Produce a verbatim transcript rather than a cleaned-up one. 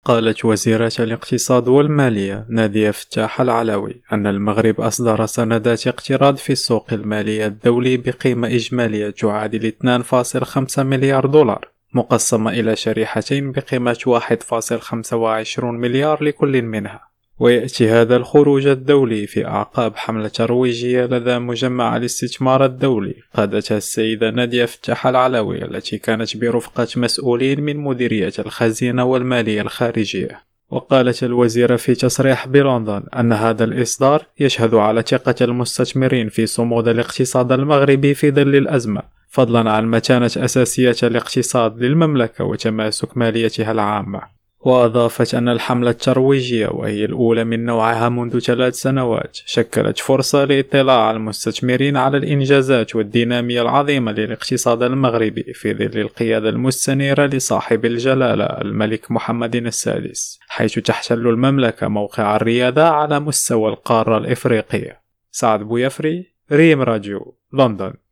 قالت وزيرة الاقتصاد والمالية نادية فتاح العلوي أن المغرب أصدر سندات اقتراض في السوق المالية الدولي بقيمة إجمالية تعادل اثنين فاصلة خمسة مليار دولار، مقسمة إلى شريحتين بقيمة واحد فاصلة خمسة وعشرين مليار لكل منها. ويأتي هذا الخروج الدولي في أعقاب حملة ترويجية لدى مجمع الاستثمار الدولي قادتها السيدة نادية فتاح العلوي، التي كانت برفقة مسؤولين من مديرية الخزينة والمالية الخارجية. وقالت الوزيرة في تصريح بلندن أن هذا الإصدار يشهد على ثقة المستثمرين في صمود الاقتصاد المغربي في ظل الأزمة، فضلا عن متانة أساسية الاقتصاد للمملكة وتماسك ماليتها العامة. وأضافت أن الحملة الترويجية، وهي الأولى من نوعها منذ ثلاث سنوات، شكلت فرصة لاطلاع المستثمرين على الإنجازات والدينامية العظيمة للاقتصاد المغربي في ظل القيادة المستنيرة لصاحب الجلالة الملك محمد السادس، حيث تحتل المملكة موقع الريادة على مستوى القارة الإفريقية. سعد بويفري، ريم راديو، لندن.